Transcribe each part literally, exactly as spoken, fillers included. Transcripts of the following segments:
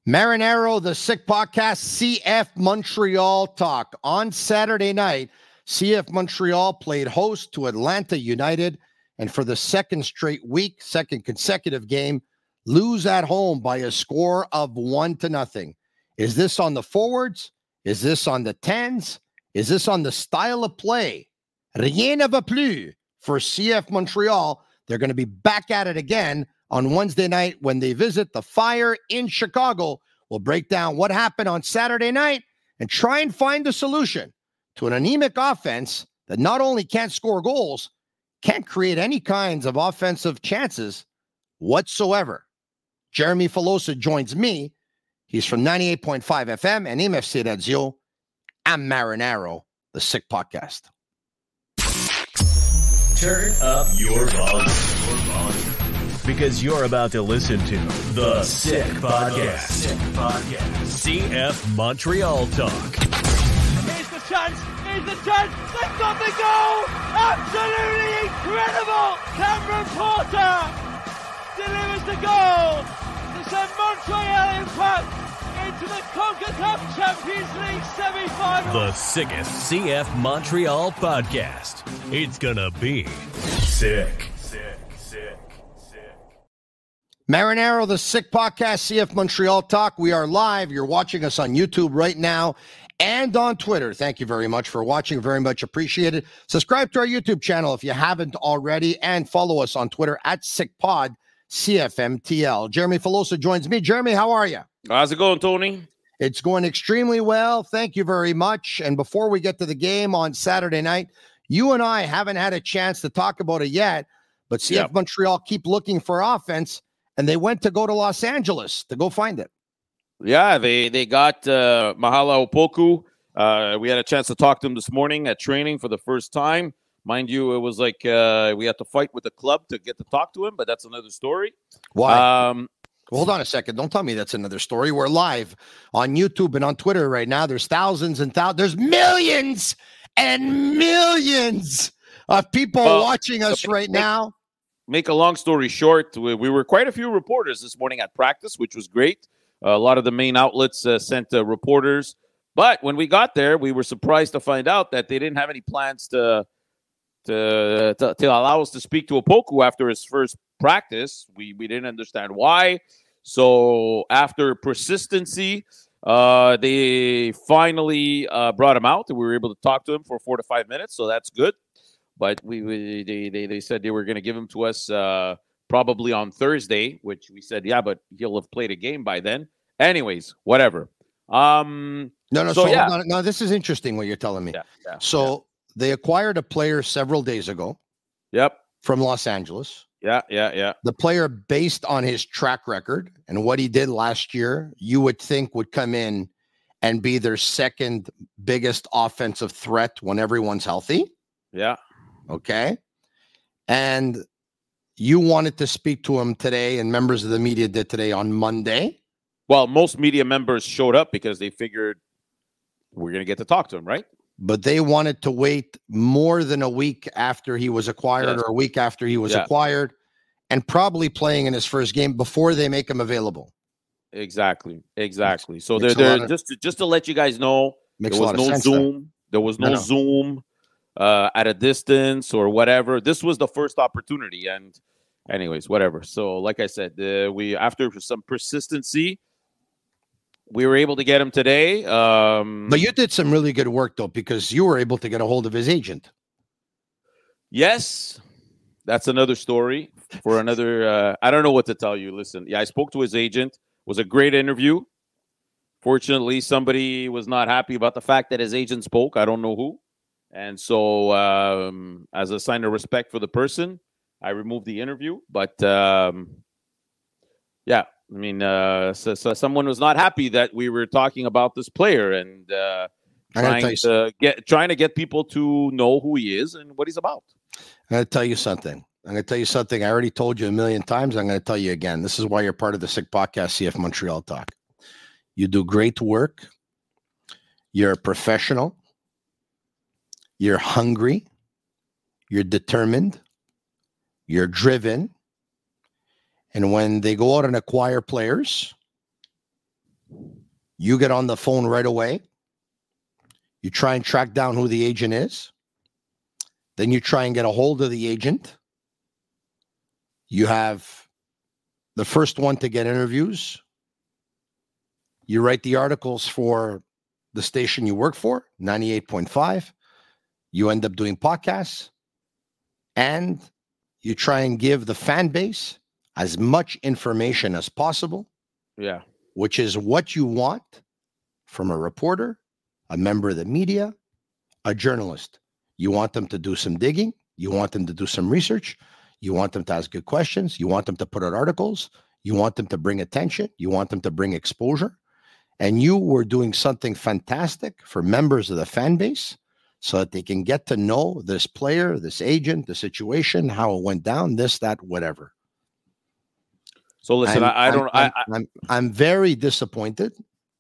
Marinaro, the Sick Podcast, C F Montreal talk. On Saturday night, C F Montreal played host to Atlanta United, and for the second straight week, second consecutive game, lose at home by a score of one to nothing. Is this on the forwards? Is this on the tens? Is this on the style of play? Rien ne va plus for C F Montreal. They're going to be back at it again on Wednesday night when they visit the Fire in Chicago. We'll break down what happened on Saturday night and try and find a solution to an anemic offense that not only can't score goals, can't create any kinds of offensive chances whatsoever. Jeremy Filosa joins me. He's from ninety-eight point five F M and M F C Radio. I'm Marinaro, the Sick Podcast. Turn up your volume. Your volume. Because you're about to listen to The Sick Podcast. Sick Podcast. C F Montreal Talk. Here's the chance. Here's the chance. They've got the goal. Absolutely incredible. Cameron Porter delivers the goal to send Montreal Impact into the CONCACAF Champions League semi-final. The sickest C F Montreal podcast. It's gonna be sick. Sick, sick, sick. Marinaro, the Sick Podcast, C F Montreal Talk. We are live. You're watching us on YouTube right now and on Twitter. Thank you very much for watching. Very much appreciated. Subscribe to our YouTube channel if you haven't already, and follow us on Twitter at SickPod, C F M T L. Jeremy Filosa joins me. Jeremy, how are you? How's it going, Tony? It's going extremely well. Thank you very much. And before we get to the game on Saturday night, you and I haven't had a chance to talk about it yet, but C F yep. Montreal keep looking for offense, and they went to go to Los Angeles to go find it. Yeah, they, they got uh, Mahala Opoku. Uh, we had a chance to talk to him this morning at training for the first time. Mind you, it was like uh, we had to fight with the club to get to talk to him, but that's another story. Why? Um, Hold on a second. Don't tell me that's another story. We're live on YouTube and on Twitter right now. There's thousands and thousands. There's millions and millions of people uh, watching us right make, now. Make a long story short, we, we were quite a few reporters this morning at practice, which was great. Uh, a lot of the main outlets uh, sent uh, reporters. But when we got there, we were surprised to find out that they didn't have any plans to to, to, to allow us to speak to Opoku after his first practice. We, we didn't understand why. So after persistency, uh, they finally uh, brought him out, and we were able to talk to him for four to five minutes. So that's good. But we, we they, they they said they were going to give him to us uh, probably on Thursday, which we said, yeah, but he'll have played a game by then. Anyways, whatever. Um, no, no. So, so yeah. no, no, this is interesting what you're telling me. Yeah, yeah, so yeah. They acquired a player several days ago. Yep. From Los Angeles. Yeah, yeah, yeah. The player, based on his track record and what he did last year, you would think would come in and be their second biggest offensive threat when everyone's healthy. Yeah. Okay. And you wanted to speak to him today, and members of the media did today on Monday. Well, most media members showed up because they figured we're going to get to talk to him, right? But they wanted to wait more than a week after he was acquired yes. or a week after he was yeah. acquired, and probably playing in his first game before they make him available. Exactly. Exactly. So they're, they're of, just, to, just to let you guys know, there was no sense, Zoom. Though. There was no, no, no. Zoom uh, at a distance or whatever. This was the first opportunity. And anyways, whatever. So like I said, uh, we after some persistency, we were able to get him today. Um, but you did some really good work, though, because you were able to get a hold of his agent. Yes. That's another story for another. Uh, I don't know what to tell you. Listen, yeah, I spoke to his agent. It was a great interview. Fortunately, somebody was not happy about the fact that his agent spoke. I don't know who. And so um, as a sign of respect for the person, I removed the interview. But um, yeah. I mean, uh, so, so someone was not happy that we were talking about this player and uh, trying to get trying to get people to know who he is and what he's about. I'm going to tell you something. I'm going to tell you something I already told you a million times. I'm going to tell you again. This is why you're part of the Sick Podcast, C F Montreal Talk. You do great work. You're a professional. You're hungry. You're determined. You're driven. And when they go out and acquire players, You get on the phone right away. You try and track down who the agent is. Then you try and get a hold of the agent. You have the first one to get interviews. You write the articles for the station you work for, ninety-eight point five. You end up doing podcasts. And you try and give the fan base as much information as possible. Yeah. Which is what you want from a reporter, a member of the media, a journalist. You want them to do some digging. You want them to do some research. You want them to ask good questions. You want them to put out articles. You want them to bring attention. You want them to bring exposure. And you were doing something fantastic for members of the fan base so that they can get to know this player, this agent, the situation, how it went down, this, that, whatever. So listen, I, I don't. I'm, I, I'm I'm very disappointed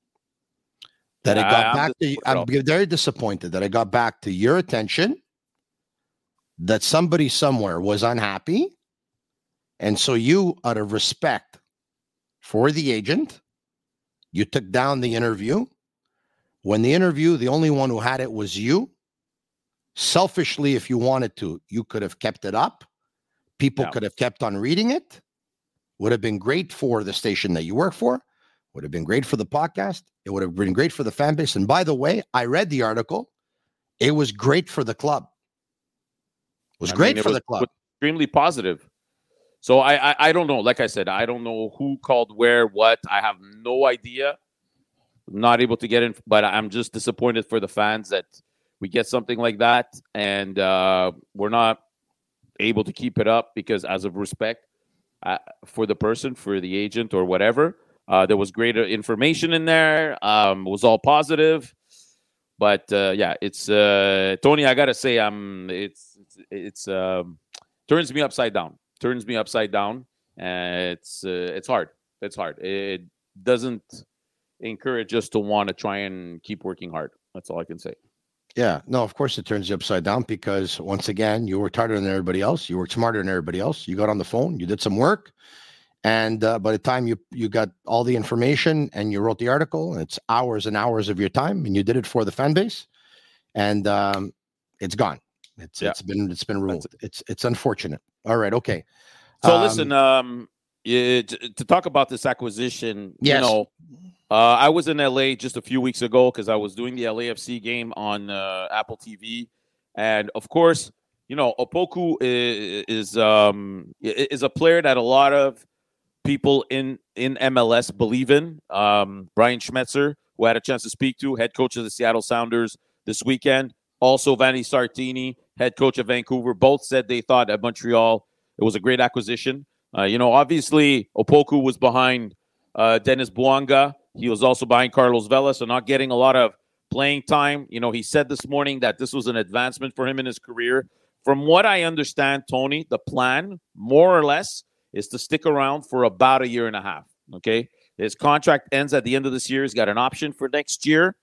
that yeah, I got I, back to. I'm very disappointed that I got back to your attention. That somebody somewhere was unhappy, and so you, out of respect for the agent, you took down the interview. When the interview, the only one who had it was you. Selfishly, if you wanted to, you could have kept it up. People yeah. could have kept on reading it. Would have been great for the station that you work for. Would have been great for the podcast. It would have been great for the fan base. And by the way, I read the article. It was great for the club. It was I great mean, it for was, the club. Extremely positive. So I, I I don't know. Like I said, I don't know who called where, what. I have no idea. I'm not able to get in, but I'm just disappointed for the fans that we get something like that. And uh, we're not able to keep it up because as of respect, Uh, for the person, for the agent or whatever. Uh, there was greater information in there. Um, it was all positive. But uh, yeah, it's uh, Tony, I got to say, I'm it's it's, it's um, turns me upside down. Turns me upside down. Uh, it's uh, it's hard. It's hard. It doesn't encourage us to want to try and keep working hard. That's all I can say. Yeah, no, of course it turns you upside down because once again, you worked harder than everybody else. You worked smarter than everybody else. You got on the phone, you did some work. And uh, by the time you, you got all the information and you wrote the article, it's hours and hours of your time and you did it for the fan base and um, it's gone. It's, yeah. it's been, it's been ruined. It. It's, it's unfortunate. All right. Okay. So um, listen, um, it, to talk about this acquisition, yes. you know, Uh, I was in L A just a few weeks ago because I was doing the L A F C game on uh, Apple T V, and of course, you know, Opoku is, is um is a player that a lot of people in in M L S believe in. Um, Brian Schmetzer, who I had a chance to speak to, head coach of the Seattle Sounders this weekend, also Vanni Sartini, head coach of Vancouver, both said they thought at Montreal it was a great acquisition. Uh, you know, obviously Opoku was behind uh, Dennis Bouanga. He was also behind Carlos Vela, so not getting a lot of playing time. You know, he said this morning that this was an advancement for him in his career. From what I understand, Tony, the plan, more or less, is to stick around for about a year and a half, okay? His contract ends at the end of this year. He's got an option for next year.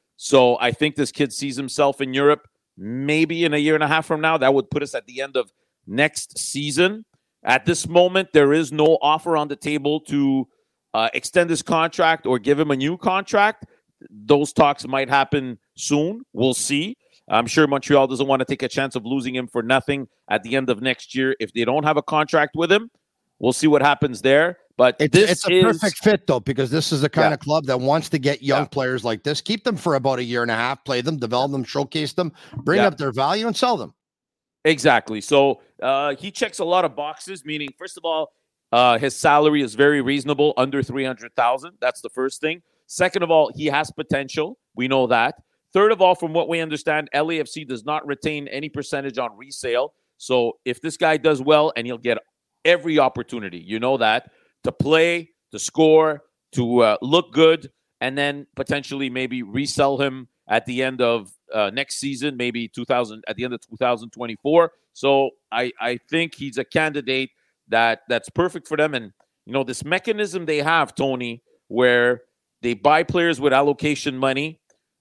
So I think this kid sees himself in Europe maybe in a year and a half from now. That would put us at the end of next season. At this moment, there is no offer on the table to Uh, extend his contract or give him a new contract. Those talks might happen soon. We'll see. I'm sure Montreal doesn't want to take a chance of losing him for nothing at the end of next year. If they don't have a contract with him, we'll see what happens there. But it's, this it's a is, perfect fit, though, because this is the kind yeah. of club that wants to get young yeah. players like this, keep them for about a year and a half, play them, develop them, showcase them, bring yeah. up their value, and sell them. Exactly. So uh, he checks a lot of boxes, meaning, first of all, Uh, his salary is very reasonable, under three hundred thousand dollars. That's the first thing. Second of all, he has potential. We know that. Third of all, from what we understand, L A F C does not retain any percentage on resale. So if this guy does well, and he'll get every opportunity, you know that, to play, to score, to uh, look good, and then potentially maybe resell him at the end of uh, next season, maybe two thousand at the end of two thousand twenty-four. So I, I think he's a candidate that that's perfect for them. And, you know, this mechanism they have, Tony, where they buy players with allocation money,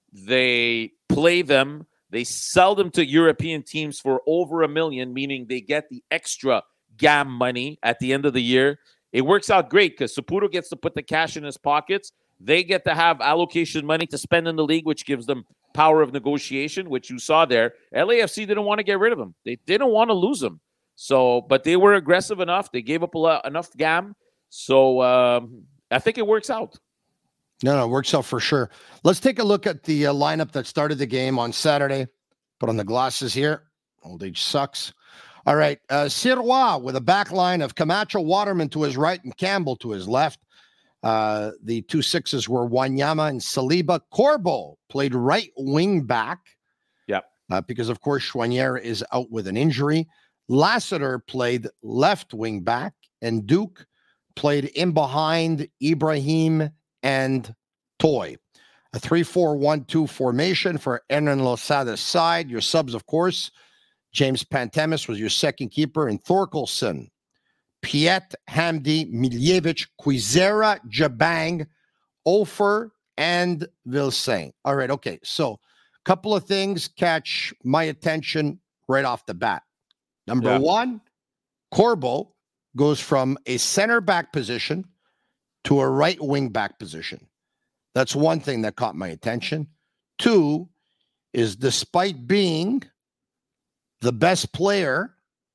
they play them, they sell them to European teams for over a million, meaning they get the extra G A M money at the end of the year. it works out great because Saputo gets to put the cash in his pockets. They get to have allocation money to spend in the league, which gives them power of negotiation, which you saw there. L A F C didn't want to get rid of him. They didn't want to lose him. So, but they were aggressive enough. They gave up a lot, enough gam. So um, I think it works out. No, no, it works out for sure. Let's take a look at the uh, lineup that started the game on Saturday. Put on the glasses here. Old age sucks. All right. Uh, Sirois with a back line of Camacho, Waterman to his right, and Campbell to his left. Uh, the two sixes were Wanyama and Saliba. Corbo played right wing back. Yep. Uh, because, of course, Choinière is out with an injury. Lassiter played left wing back, and Duke played in behind Ibrahim and Toy. A three four one two formation for Hernan Losada's side. Your subs, of course, James Pantemis was your second keeper, and Thorkelson, Piet, Hamdi, Miljevic, Quizera, Jabang, Ofer, and Vilsain. All right, okay. So a couple of things catch my attention right off the bat. Number yeah. one, Corbo goes from a center back position to a right wing back position. That's one thing that caught my attention. Two is despite being the best player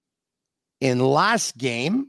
in last game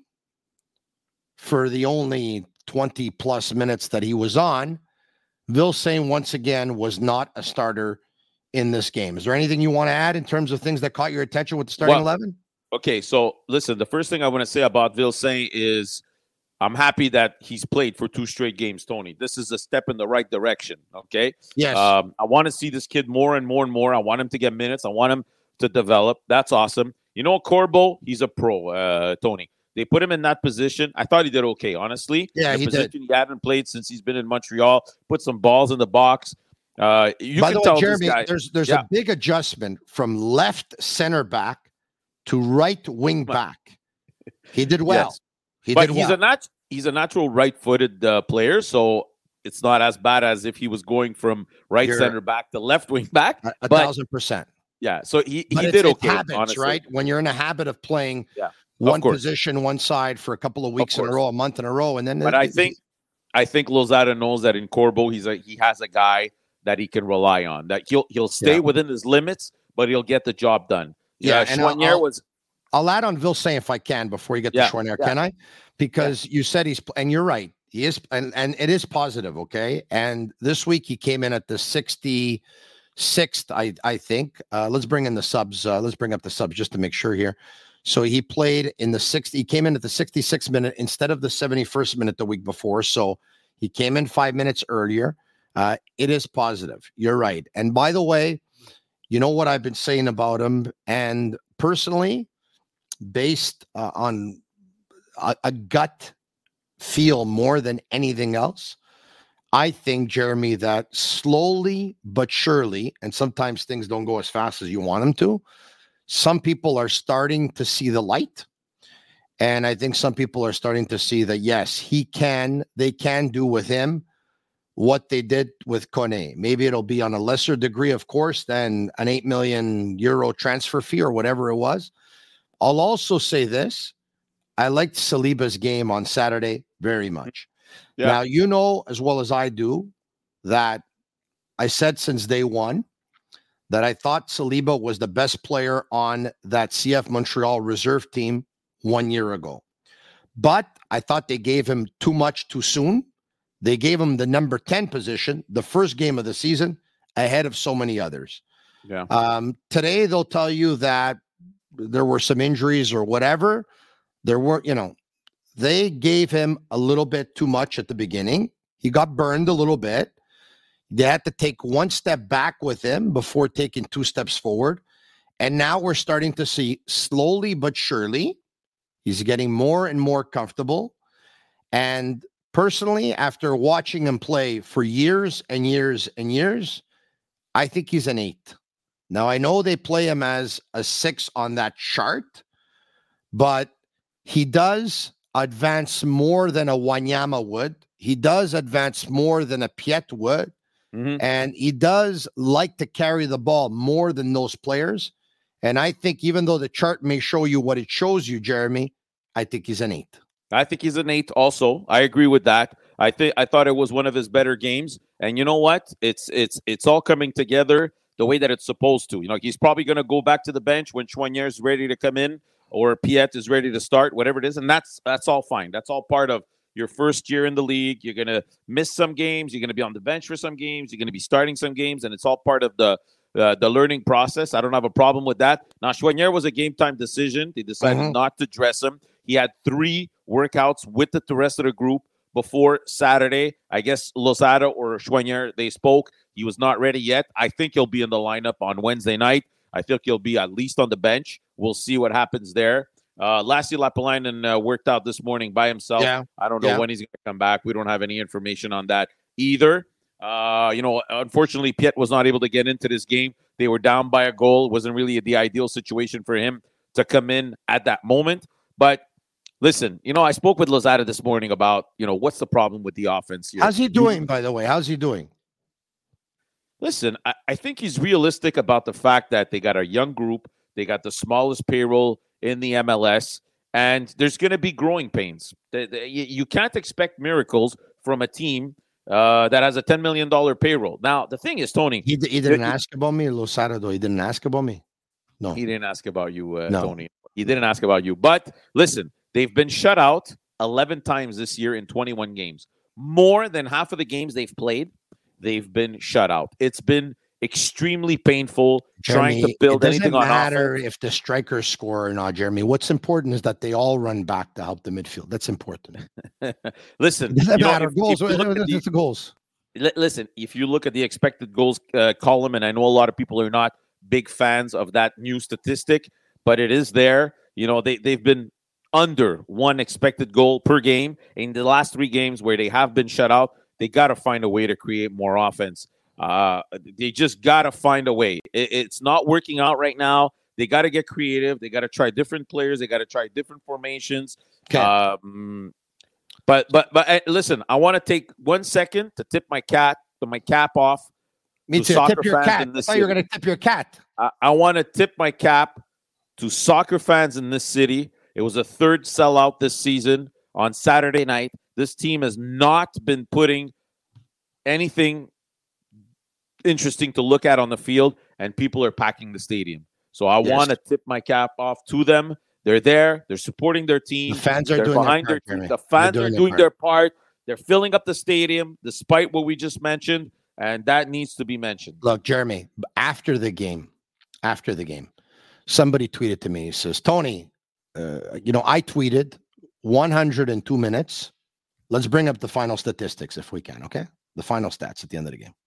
for the only twenty plus minutes that he was on, Vilsain once again was not a starter in this game. Is there anything you want to add in terms of things that caught your attention with the starting well, eleven? Okay, so listen, the first thing I want to say about Vilsain is I'm happy that he's played for two straight games, Tony. This is a step in the right direction, okay? Yes. Um, I want to see this kid more and more and more. I want him to get minutes. I want him to develop. That's awesome. You know, Corbo, he's a pro, uh, Tony. They put him in that position. I thought he did okay, honestly. Yeah, the he position did. He hadn't played since he's been in Montreal. Put some balls in the box. Uh, you By can the way, tell Jeremy, this guy, there's there's yeah. a big adjustment from left center back to right wing back. He did well. Yes. He but did he's well. a nat- he's a natural right-footed uh, player, so it's not as bad as if he was going from right You're, center back to left wing back. A, a but, thousand percent. Yeah, so he, But he it's, did it's okay, habits, honestly. right? When you're in a habit of playing yeah, one of course. position, one side for a couple of weeks Of in a course. row, a month in a row, and then. But it, I think I think Lozada knows that in Corbo, he's a he has a guy that he can rely on. That he'll he'll stay Yeah. within his limits, but he'll get the job done. Yeah, Yeah, and I'll- Choinière I'll- was. I'll add on Vilsain if I can before you get Yeah, to Choinière, yeah. can I? Because you said he's, and you're right, he is, and, and it is positive, okay? And this week he came in at the sixty-sixth, I, I think. Uh, let's bring in the subs. Uh, let's bring up the subs just to make sure here. So he played in the sixty, he came in at the sixty-sixth minute instead of the seventy-first minute the week before. So he came in five minutes earlier. Uh, it is positive. You're right. And by the way, you know what I've been saying about him, and personally, based uh, on a, a gut feel more than anything else, I think, Jeremy, that slowly but surely, and sometimes things don't go as fast as you want them to, some people are starting to see the light. And I think some people are starting to see that, yes, he can, they can do with him what they did with Kone. Maybe it'll be on a lesser degree, of course, than an eight million euro transfer fee or whatever it was. I'll also say this. I liked Saliba's game on Saturday very much. Yeah. Now, you know as well as I do that I said since day one that I thought Saliba was the best player on that C F Montreal reserve team one year ago. But I thought they gave him too much too soon. They gave him the number ten position, the first game of the season, ahead of so many others. Yeah. Um, today, they'll tell you that there were some injuries or whatever. There were, you know, they gave him a little bit too much at the beginning. He got burned a little bit. They had to take one step back with him before taking two steps forward. And now we're starting to see slowly but surely, he's getting more and more comfortable. And personally, after watching him play for years and years and years, I think he's an eight. Now, I know they play him as a six on that chart, but he does advance more than a Wanyama would. He does advance more than a Piet would. Mm-hmm. And he does like to carry the ball more than those players. And I think even though the chart may show you what it shows you, Jeremy, I think he's an eight. I think he's an eight also. I agree with that. I think I thought it was one of his better games. And you know what? It's it's it's all coming together the way that it's supposed to. You know, he's probably going to go back to the bench when Choinière is ready to come in or Piette is ready to start, whatever it is. And that's that's all fine. That's all part of your first year in the league. You're going to miss some games. You're going to be on the bench for some games. You're going to be starting some games. And it's all part of the uh, the learning process. I don't have a problem with that. Now, Choinière was a game-time decision. They decided mm-hmm. not to dress him. He had three workouts with the, the rest of the group before Saturday. I guess Lozada or Choinière, they spoke. He was not ready yet. I think he'll be in the lineup on Wednesday night. I think he'll be at least on the bench. We'll see what happens there. Uh, Lassi Lappalainen uh, worked out this morning by himself. Yeah. I don't know yeah. when he's going to come back. We don't have any information on that either. Uh, you know, unfortunately, Piette was not able to get into this game. They were down by a goal. It wasn't really the ideal situation for him to come in at that moment. But listen, you know, I spoke with Lozada this morning about, you know, what's the problem with the offense here. How's he doing, by the way? How's he doing? Listen, I, I think he's realistic about the fact that they got a young group. They got the smallest payroll in the M L S, and there's going to be growing pains. The, the, you, you can't expect miracles from a team uh, that has a ten million dollars payroll. Now, the thing is, Tony. He, he didn't ask about me, Lozada, though. He didn't ask about me. No. He didn't ask about you, uh, no. Tony. He didn't ask about you. But listen, they've been shut out eleven times this year in twenty-one games. More than half of the games they've played, they've been shut out. It's been extremely painful Jeremy, trying to build anything on offense. It doesn't matter if the strikers score or not, Jeremy. What's important is that they all run back to help the midfield. That's important. Listen, it doesn't you matter. Know, if, goals. If it's the goals. Listen, if you look at the expected goals uh, column, and I know a lot of people are not big fans of that new statistic, but it is there. You know, they, they've been under one expected goal per game in the last three games where they have been shut out. They got to find a way to create more offense. Uh, they just got to find a way. It, it's not working out right now. They got to get creative. They got to try different players. They got to try different formations. Okay. Um, but but but uh, listen, I want to take one second to tip my cat, to my cap off. Me to too. Soccer Tip your fans cat. in this I thought you were city. going to tip your cat. I, I want to tip my cap to soccer fans in this city. It was a third sellout this season on Saturday night. This team has not been putting anything interesting to look at on the field, and people are packing the stadium. So I yes. want to tip my cap off to them. They're there. They're supporting their team. The fans are They're doing behind their, their part, team. The fans doing are doing their their part. part. They're filling up the stadium, despite what we just mentioned, and that needs to be mentioned. Look, Jeremy, after the game, after the game, somebody tweeted to me. He says, Tony, uh, you know, I tweeted one hundred two minutes. Let's bring up the final statistics if we can, okay? The final stats at the end of the game.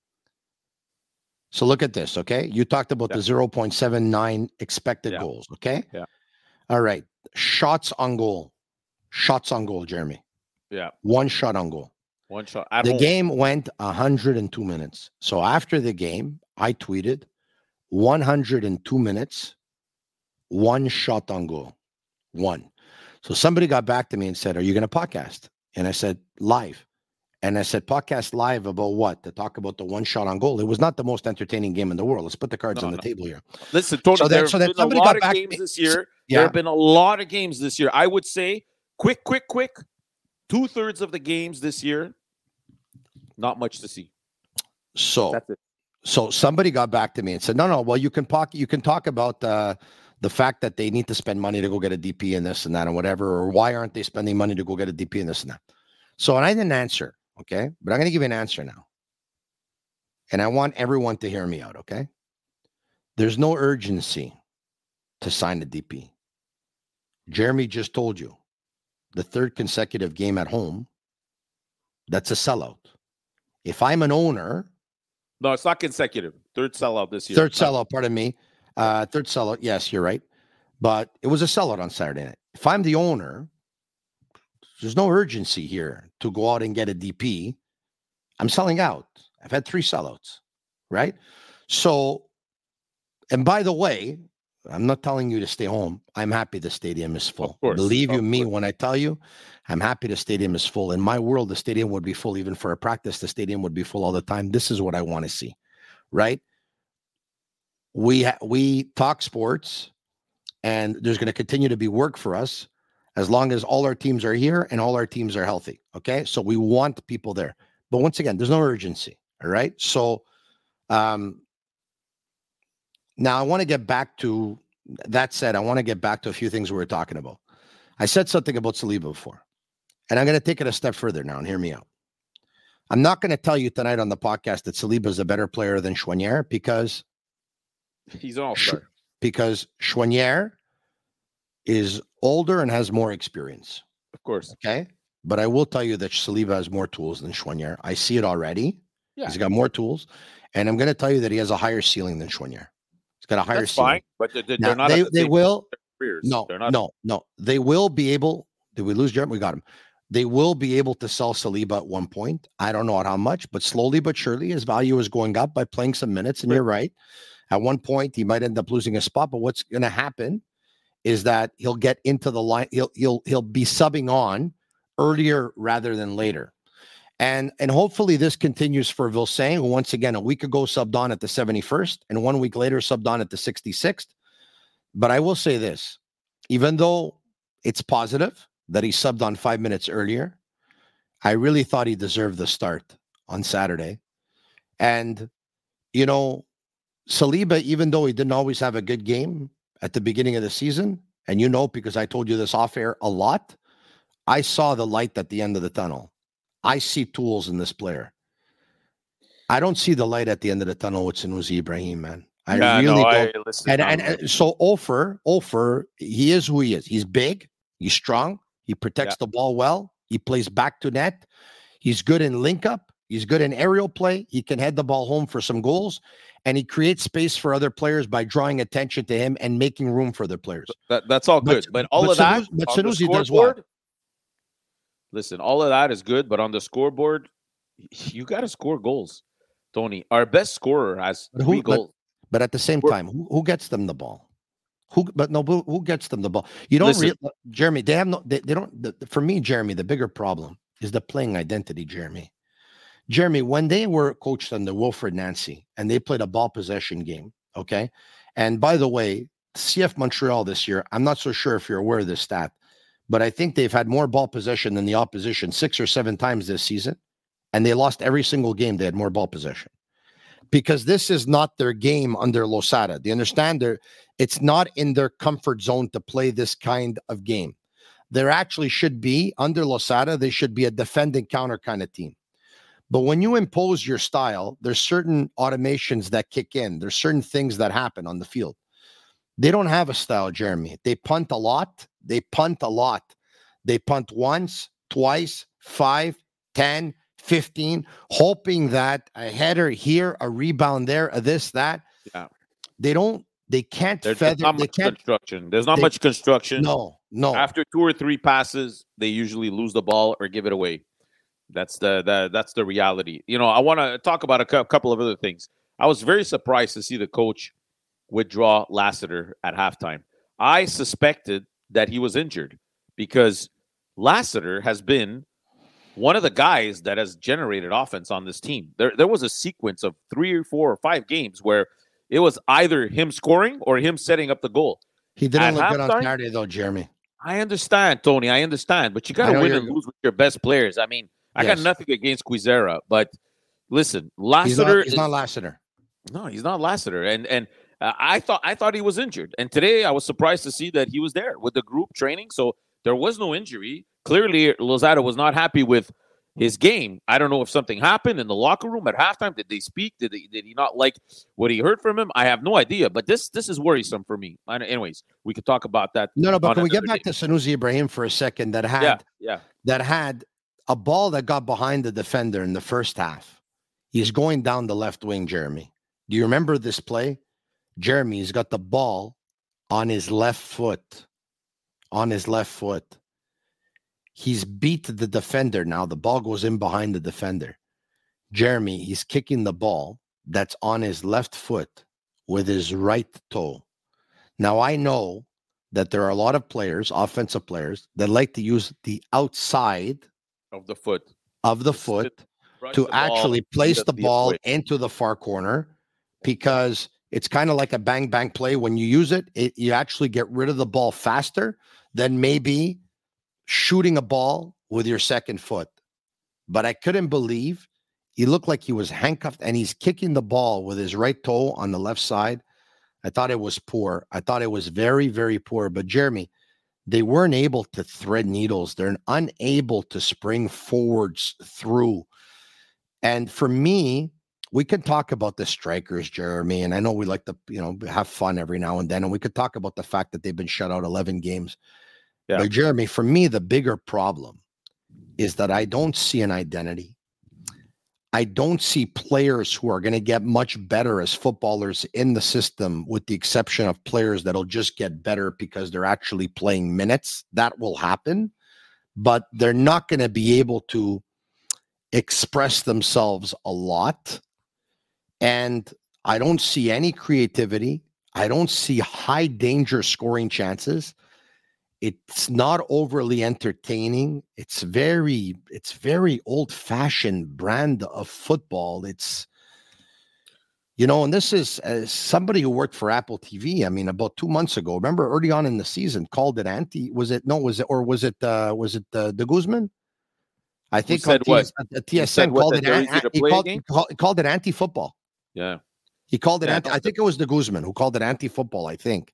So look at this, okay? You talked about yeah. the zero point seven nine expected yeah. goals, okay? Yeah. All right. Shots on goal. Shots on goal, Jeremy. Yeah. One shot on goal. One shot. At the home. game went one hundred two minutes. So after the game, I tweeted one hundred two minutes, one shot on goal. One. So somebody got back to me and said, are you going to podcast? And I said, live. And I said, podcast live about what? To talk about the one shot on goal. It was not the most entertaining game in the world. Let's put the cards no, on the no. table here. Listen, Tony, so there that, so have that been somebody a lot got of back games this year. Yeah. There have been a lot of games this year. I would say quick, quick, quick. Two-thirds of the games this year, not much to see. So That's it. So somebody got back to me and said, no, no, well, you can talk, you can talk about uh, the fact that they need to spend money to go get a D P and this and that and whatever, or why aren't they spending money to go get a D P and this and that? So, and I didn't answer, okay? But I'm going to give you an answer now. And I want everyone to hear me out, okay? There's no urgency to sign a D P. Jeremy just told you the third consecutive game at home, that's a sellout. If I'm an owner... No, it's not consecutive. Third sellout this year. Third sellout, pardon me. Uh, third sellout, yes, you're right. But it was a sellout on Saturday night. If I'm the owner, there's no urgency here to go out and get a D P. I'm selling out. I've had three sellouts, right? So, and by the way, I'm not telling you to stay home. I'm happy the stadium is full. Of course, Believe you of me course. when I tell you, I'm happy the stadium is full. In my world, the stadium would be full. Even for a practice, the stadium would be full all the time. This is what I want to see, right? We ha- we talk sports, and there's going to continue to be work for us as long as all our teams are here and all our teams are healthy. Okay. So we want people there. But once again, there's no urgency. All right. So um, now I want to get back to that said, I want to get back to a few things we were talking about. I said something about Saliba before, and I'm going to take it a step further now and hear me out. I'm not going to tell you tonight on the podcast that Saliba is a better player than Choinière because he's an all-star. Because Choinière is older and has more experience. Of course. Okay. But I will tell you that Saliba has more tools than Choinière. I see it already. Yeah. He's got more tools. And I'm going to tell you that he has a higher ceiling than Choinière. He's got a higher That's ceiling. Fine, but they're, they're now, not. They, they will. No, they're not. no, no. They will be able. Did we lose Jeremy? We got him. They will be able to sell Saliba at one point. I don't know at how much, but slowly but surely his value is going up by playing some minutes. And right. You're right. At one point, he might end up losing a spot. But what's going to happen is that he'll get into the line. He'll he'll he'll be subbing on earlier rather than later. And and hopefully this continues for Vilsain, who once again a week ago subbed on at the seventy-first and one week later subbed on at the sixty-sixth. But I will say this, even though it's positive that he subbed on five minutes earlier, I really thought he deserved the start on Saturday. And, you know, Saliba, even though he didn't always have a good game at the beginning of the season, and you know, because I told you this off air a lot, I saw the light at the end of the tunnel. I see tools in this player. I don't see the light at the end of the tunnel with Sunusi Ibrahim, man. I yeah, really no, don't. I, listen, and, and, and so Ofer, Ofer, he is who he is. He's big. He's strong. He protects yeah. the ball well. He plays back to net. He's good in link up. He's good in aerial play. He can head the ball home for some goals. And he creates space for other players by drawing attention to him and making room for other players. That, that's all good. But, but all but of that, Sunusi, but Sunusi does what? Listen, all of that is good. But on the scoreboard, you got to score goals, Tony. Our best scorer has but three who, goals. But, but at the same time, who, who gets them the ball? Who, but no, who, who gets them the ball? You don't, re- Jeremy. They have no. They, they don't. The, for me, Jeremy, the bigger problem is the playing identity. Jeremy, Jeremy, when they were coached under Wilfred Nancy and they played a ball possession game, okay. And by the way, C F Montreal this year, I'm not so sure if you're aware of this stat, but I think they've had more ball possession than the opposition six or seven times this season, and they lost every single game. They had more ball possession. Because this is not their game under Losada. Do you understand? They're, it's not in their comfort zone to play this kind of game. There actually should be, under Losada, they should be a defending counter kind of team. But when you impose your style, there's certain automations that kick in. There's certain things that happen on the field. They don't have a style, Jeremy. They punt a lot. They punt a lot. They punt once, twice, five, ten, fifteen, hoping that a header here, a rebound there, a this, that. Yeah. They don't, they can't There's feather. not they much can't, construction. There's not they, much construction. No, no. After two or three passes, they usually lose the ball or give it away. That's the, the that's the reality. You know, I want to talk about a cu- couple of other things. I was very surprised to see the coach withdraw Lassiter at halftime. I suspected that he was injured because Lassiter has been one of the guys that has generated offense on this team. There, there was a sequence of three or four or five games where it was either him scoring or him setting up the goal. He didn't look good on Saturday, though, Jeremy. I understand, Tony. I understand. But you got to win and lose with your best players. I mean, I yes. got nothing against Quizera, but listen, Lassiter. He's not, he's not Lassiter. No, he's not Lassiter. And and uh, I thought I thought he was injured. And today I was surprised to see that he was there with the group training. So there was no injury. Clearly, Losada was not happy with his game. I don't know if something happened in the locker room at halftime. Did they speak? Did they, did he not like what he heard from him? I have no idea. But this this is worrisome for me. Anyways, we could talk about that. No, no. But can we get back day. to Sunusi Ibrahim for a second? That had yeah, yeah. that had a ball that got behind the defender in the first half. He's going down the left wing, Jeremy. Do you remember this play? Jeremy, he's got the ball on his left foot. On his left foot. He's beat the defender now. The ball goes in behind the defender. Jeremy, he's kicking the ball that's on his left foot with his right toe. Now, I know that there are a lot of players, offensive players, that like to use the outside of the foot of the foot to actually place the ball into the far corner, because it's kind of like a bang bang play. When you use it, it, you actually get rid of the ball faster than maybe shooting a ball with your second foot. But I couldn't believe he looked like he was handcuffed and he's kicking the ball with his right toe on the left side. I thought it was poor. I thought it was very, very poor. But Jeremy, they weren't able to thread needles. They're unable to spring forwards through. And for me, we could talk about the strikers, Jeremy, and I know we like to, you know, have fun every now and then, and we could talk about the fact that they've been shut out eleven games. Yeah. But Jeremy, for me, the bigger problem is that I don't see an identity. I don't see players who are going to get much better as footballers in the system, with the exception of players that'll just get better because they're actually playing minutes. That will happen, but they're not going to be able to express themselves a lot. And I don't see any creativity. I don't see high danger scoring chances. It's not overly entertaining. It's very, it's very old-fashioned brand of football. It's, you know, and this is uh, somebody who worked for Apple T V. I mean, about two months ago, remember early on in the season, called it anti. Was it no? Was it or was it? Uh, was it uh, De Guzman? I think said T S, what? T S N called it. An, he, called, he, called, he called it anti-football. Yeah, he called it yeah, anti. I think it was De Guzman who called it anti-football. I think.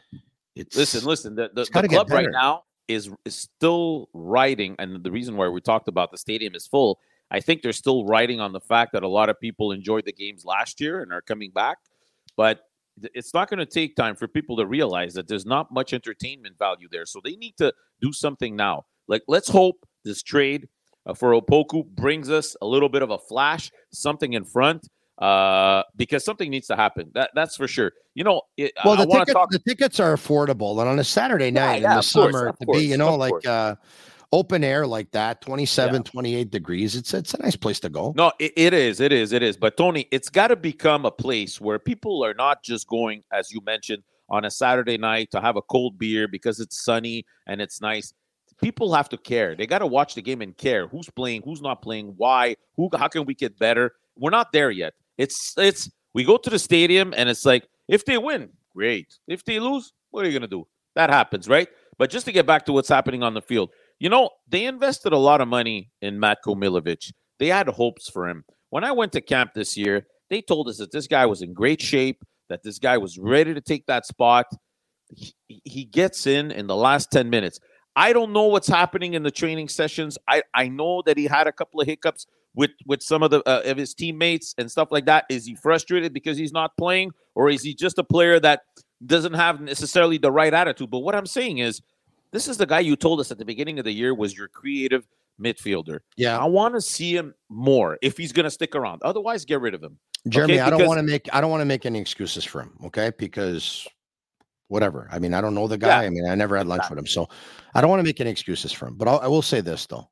It's, listen, listen. The, the, the club right now is is still riding, and the reason why we talked about the stadium is full. I think they're still riding on the fact that a lot of people enjoyed the games last year and are coming back. But it's not going to take time for people to realize that there's not much entertainment value there. So they need to do something now. Like, let's hope this trade uh, for Opoku brings us a little bit of a flash, something in front. Uh, because something needs to happen. That that's for sure. You know, it, well, I the, ticket, talk- the tickets are affordable, and on a Saturday night yeah, yeah, in the summer course, to course, be, you know, like uh, open air like that, twenty-seven, yeah. twenty-eight degrees. It's it's a nice place to go. No, it, it is, it is, it is. But Tony, it's got to become a place where people are not just going, as you mentioned, on a Saturday night to have a cold beer because it's sunny and it's nice. People have to care. They got to watch the game and care. Who's playing? Who's not playing? Why? Who? How can we get better? We're not there yet. It's it's we go to the stadium and it's like, if they win, great. If they lose, what are you gonna do? That happens, right? But just to get back to what's happening on the field, you know, they invested a lot of money in Matko Milovic. They had hopes for him. When I went to camp this year, they told us that this guy was in great shape, that this guy was ready to take that spot. He, he gets in in the last ten minutes. I don't know what's happening in the training sessions. I, I know that he had a couple of hiccups with, with some of the uh, of his teammates and stuff like that. Is he frustrated because he's not playing, or is he just a player that doesn't have necessarily the right attitude? But what I'm saying is, this is the guy you told us at the beginning of the year was your creative midfielder. Yeah. I want to see him more if he's going to stick around. Otherwise, get rid of him. Jeremy, okay? I don't want to make I don't want to make any excuses for him, okay? Because whatever. I mean, I don't know the guy. Yeah. I mean, I never had lunch with him, so I don't want to make any excuses for him. But I'll, I will say this, though.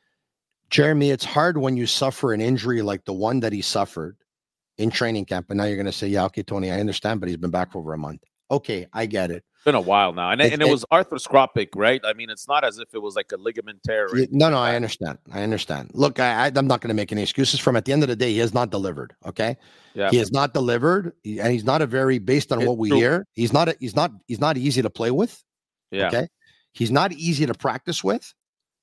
Jeremy, it's hard when you suffer an injury like the one that he suffered in training camp, and now you're going to say, yeah, okay, Tony, I understand, but he's been back for over a month. Okay, I get it. It's been a while now, and it, and it, it was arthroscopic, right? I mean, it's not as if it was like a ligament tear. Right? No, no, I understand. I understand. Look, I, I, I'm not going to make any excuses for him. At the end of the day, he has not delivered, okay? Yeah. He has not delivered, and he's not a very, based on it's what we true. hear, he's not, a, he's not, he's not easy to play with, yeah. okay? He's not easy to practice with.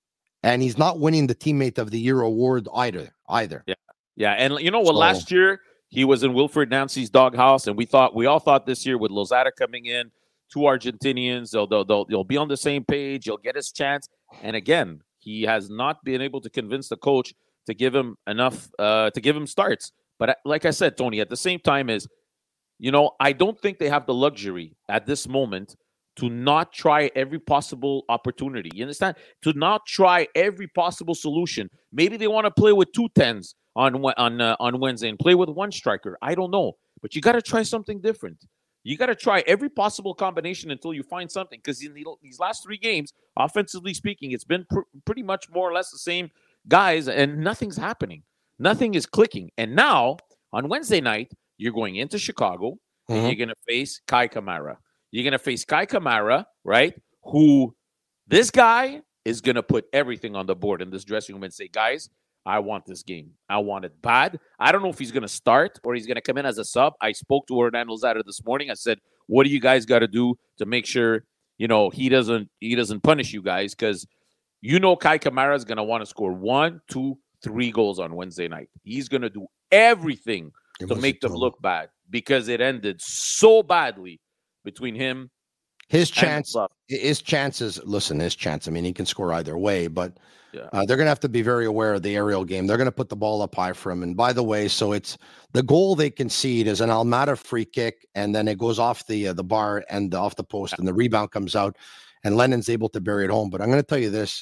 And he's not winning the Teammate of the Year award either. Either. Yeah, yeah. And you know what? So, last year he was in Wilfred Nancy's doghouse, and we thought we all thought this year with Lozada coming in, two Argentinians, they'll they'll they'll, they'll be on the same page. He'll get his chance. And again, he has not been able to convince the coach to give him enough uh, to give him starts. But like I said, Tony, at the same time is, you know, I don't think they have the luxury at this moment to not try every possible opportunity. You understand? To not try every possible solution. Maybe they want to play with two tens on on uh, on Wednesday and play with one striker. I don't know. But you got to try something different. You got to try every possible combination until you find something. Because in the, these last three games, offensively speaking, it's been pr- pretty much more or less the same guys, and nothing's happening. Nothing is clicking. And now, on Wednesday night, you're going into Chicago, mm-hmm. and you're going to face Kai Kamara. You're going to face Kai Kamara, right? Who, this guy is going to put everything on the board in this dressing room and say, guys, I want this game. I want it bad. I don't know if he's going to start or he's going to come in as a sub. I spoke to Hernan Lozada this morning. I said, what do you guys got to do to make sure, you know, he doesn't he doesn't punish you guys? Because You know Kai Kamara is going to want to score one, two, three goals on Wednesday night. He's going to do everything It to was make a them total- look bad because it ended so badly between him His and the chance, club. his chances. Listen, his chance. I mean, he can score either way, but Yeah. uh, they're going to have to be very aware of the aerial game. They're going to put the ball up high for him. And by the way, so it's the goal they concede is an Almada free kick, and then it goes off the uh, the bar and off the post, and the rebound comes out, and Lennon's able to bury it home. But I'm going to tell you this: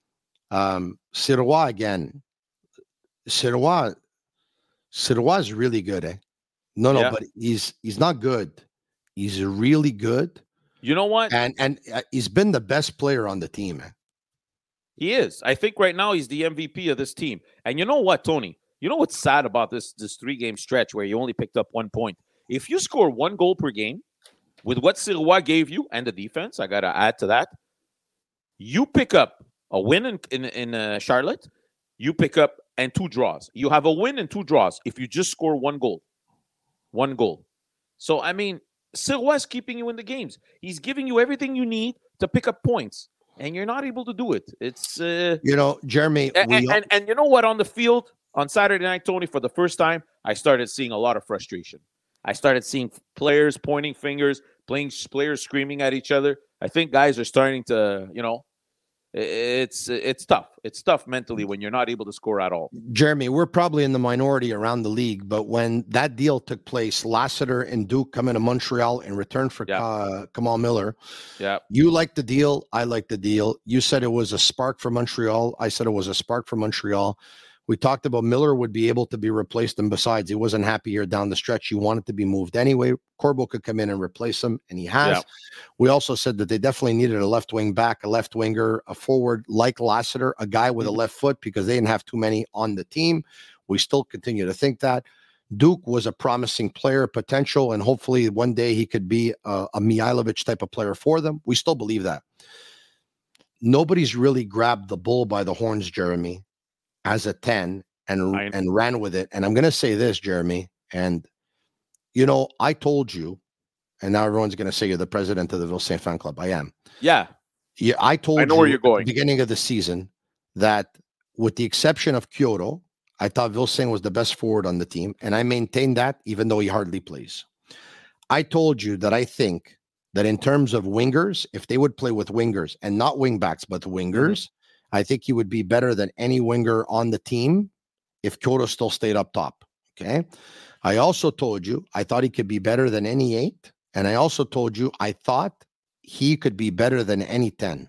um, Sirois again. Sirois, Sirois is really good, eh? No, no, Yeah. but he's he's not good. He's really good. You know what? And and uh, he's been the best player on the team. Man. He is. I think right now he's the M V P of this team. And you know what, Tony? You know what's sad about this this three game stretch where you only picked up one point? If you score one goal per game with what Sirois gave you and the defense, I gotta add to that. You pick up a win in in, in uh, Charlotte. You pick up and two draws. You have a win and two draws if you just score one goal. One goal. So I mean, Sirois is keeping you in the games. He's giving you everything you need to pick up points. And you're not able to do it. It's uh, You know, Jeremy. and, we, and, and and you know what? On the field on Saturday night, Tony, for the first time, I started seeing a lot of frustration. I started seeing players pointing fingers, playing players screaming at each other. I think guys are starting to, you know, it's it's tough. It's tough mentally when you're not able to score at all. Jeremy, we're probably in the minority around the league, but when that deal took place, Lassiter and Duke come into Montreal in return for Yeah. uh, Kamal Miller. Yeah, You liked the deal. I liked the deal. You said it was a spark for Montreal. I said it was a spark for Montreal. We talked about Miller would be able to be replaced, and besides, he wasn't happy here down the stretch. He wanted to be moved anyway. Corbo could come in and replace him, and he has. Yeah. We also said that they definitely needed a left wing back, a left winger, a forward like Lassiter, a guy with a left foot because they didn't have too many on the team. We still continue to think that. Duke was a promising player, potential, and hopefully one day he could be a, a Mihailovic type of player for them. We still believe that. Nobody's really grabbed the bull by the horns, Jeremy, as a ten and I- and ran with it. And I'm going to say this, Jeremy, and you know, I told you, and now everyone's going to say you're the president of the Ville Saint Fan Club. I am. yeah. Yeah, I told I know you where you're at going. the beginning of the season that with the exception of Kyoto, I thought Vilsain was the best forward on the team, and I maintained that even though he hardly plays. I told you that I think that in terms of wingers, if they would play with wingers and not wingbacks, but wingers, I think he would be better than any winger on the team if Kyoto still stayed up top. Okay. I also told you I thought he could be better than any eight. And I also told you I thought he could be better than any ten.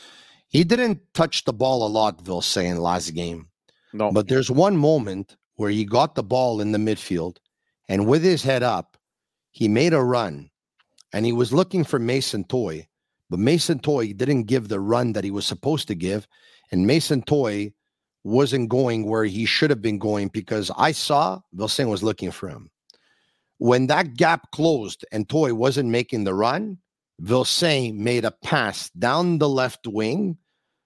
He didn't touch the ball a lot, Vilsain, last game. No, But there's one moment where he got the ball in the midfield, and with his head up, he made a run, and he was looking for Mason Toy, but Mason Toy didn't give the run that he was supposed to give, and Mason Toy wasn't going where he should have been going because I saw Vilsain was looking for him. When that gap closed and Toy wasn't making the run, Vilsain made a pass down the left wing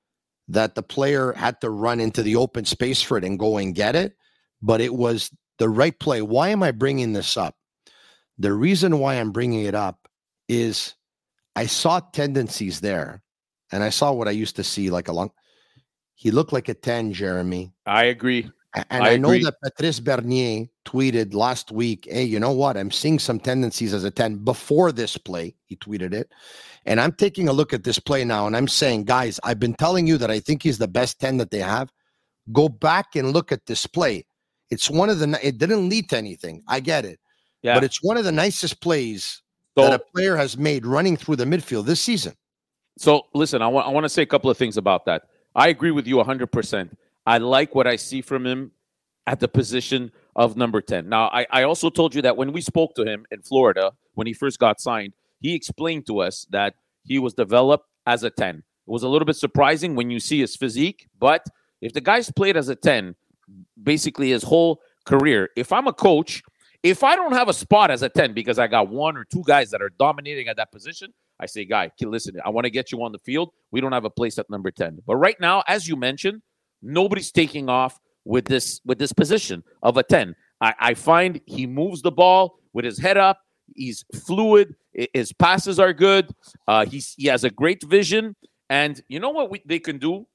that the player had to run into the open space for it and go and get it, but it was the right play. Why am I bringing this up? The reason why I'm bringing it up is I saw tendencies there, and I saw what I used to see like a long. He looked like a ten, Jeremy. I agree. A- And I I, know agree. that Patrice Bernier tweeted last week, hey, you know what? I'm seeing some tendencies as a ten before this play. He tweeted it. And I'm taking a look at this play now, and I'm saying, guys, I've been telling you that I think he's the best ten that they have. Go back and look at this play. It's one of the, ni- it didn't lead to anything. I get it. Yeah. But it's one of the nicest plays So, that a player has made running through the midfield this season. So listen, I want I want to say a couple of things about that. I agree with you one hundred percent. I like what I see from him at the position of number ten. Now, I, I also told you that when we spoke to him in Florida, when he first got signed, he explained to us that he was developed as a ten. It was a little bit surprising when you see his physique, but if the guy's played as a ten, basically his whole career, if I'm a coach, if I don't have a spot as a ten because I got one or two guys that are dominating at that position, I say, guy, listen, I want to get you on the field. We don't have a place at number ten. But right now, as you mentioned, nobody's taking off with this with this position of a ten. I, I find he moves the ball with his head up. He's fluid. I- His passes are good. Uh, he's, he has a great vision. And you know what we, they can do?